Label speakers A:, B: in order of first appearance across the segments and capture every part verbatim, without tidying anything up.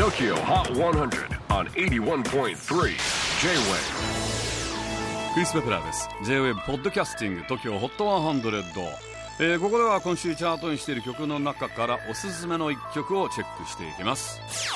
A: Tokyo Hot one hundred on エイティワンポイントスリー J-Wave。
B: クリス・ペプラーです。 J-Wave ポッドキャスティング Tokyo Hot ワンハンドレッド、えー、ここでは今週チャートにしている曲の中からおすすめのいっきょくをチェックしていきます。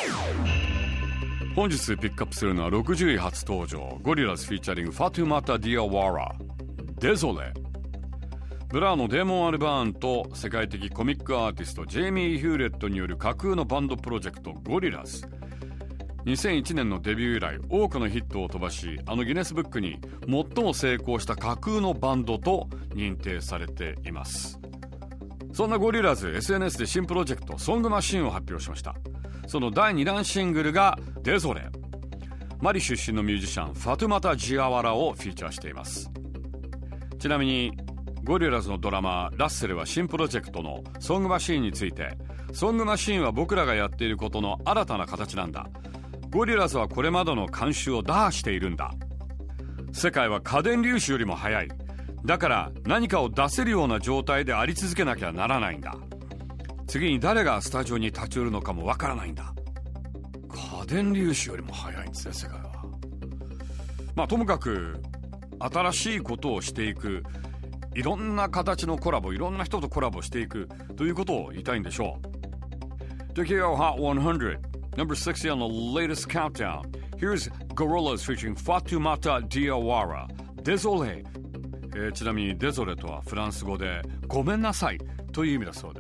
B: 本日ピックアップするのはろくじゅうい初登場、ゴリラズフィーチャリングファトゥマタ・ディアワラデゾレ。ブラーのデーモン・アルバーンと世界的コミックアーティストジェイミー・ヒューレットによる架空のバンドプロジェクトゴリラズ。にせんいちねんのデビュー以来多くのヒットを飛ばし、あのギネスブックに最も成功した架空のバンドと認定されています。そんなゴリラズ エスエヌエス で新プロジェクトソングマシンを発表しました。そのだいにだんシングルがデゾレ。マリ出身のミュージシャンファトゥマタ・ジアワラをフィーチャーしています。ちなみにゴリラズのドラマーラッセルは新プロジェクトのソングマシーンについて、ソングマシーンは僕らがやっていることの新たな形なんだ。ゴリラズはこれまでの慣習を打破しているんだ。世界は家電粒子よりも速い。だから何かを出せるような状態であり続けなきゃならないんだ。次に誰がスタジオに立ち寄るのかもわからないんだ。家電粒子よりも速いんですね、世界は。まあともかく新しいことをしていく、いろんな形のコラボ、いろんな人とコラボしていくということを言いたいんでしょう。 Tokyo Hot one hundred Number sixty on the latest countdown. Here's Gorillaz featuring Fatoumata Diawara Désolé、えー、ちなみにデゾレとはフランス語でごめんなさいという意味だそうです。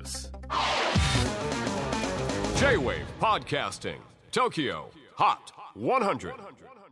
A: J-Wave Podcasting Tokyo Hot one hundred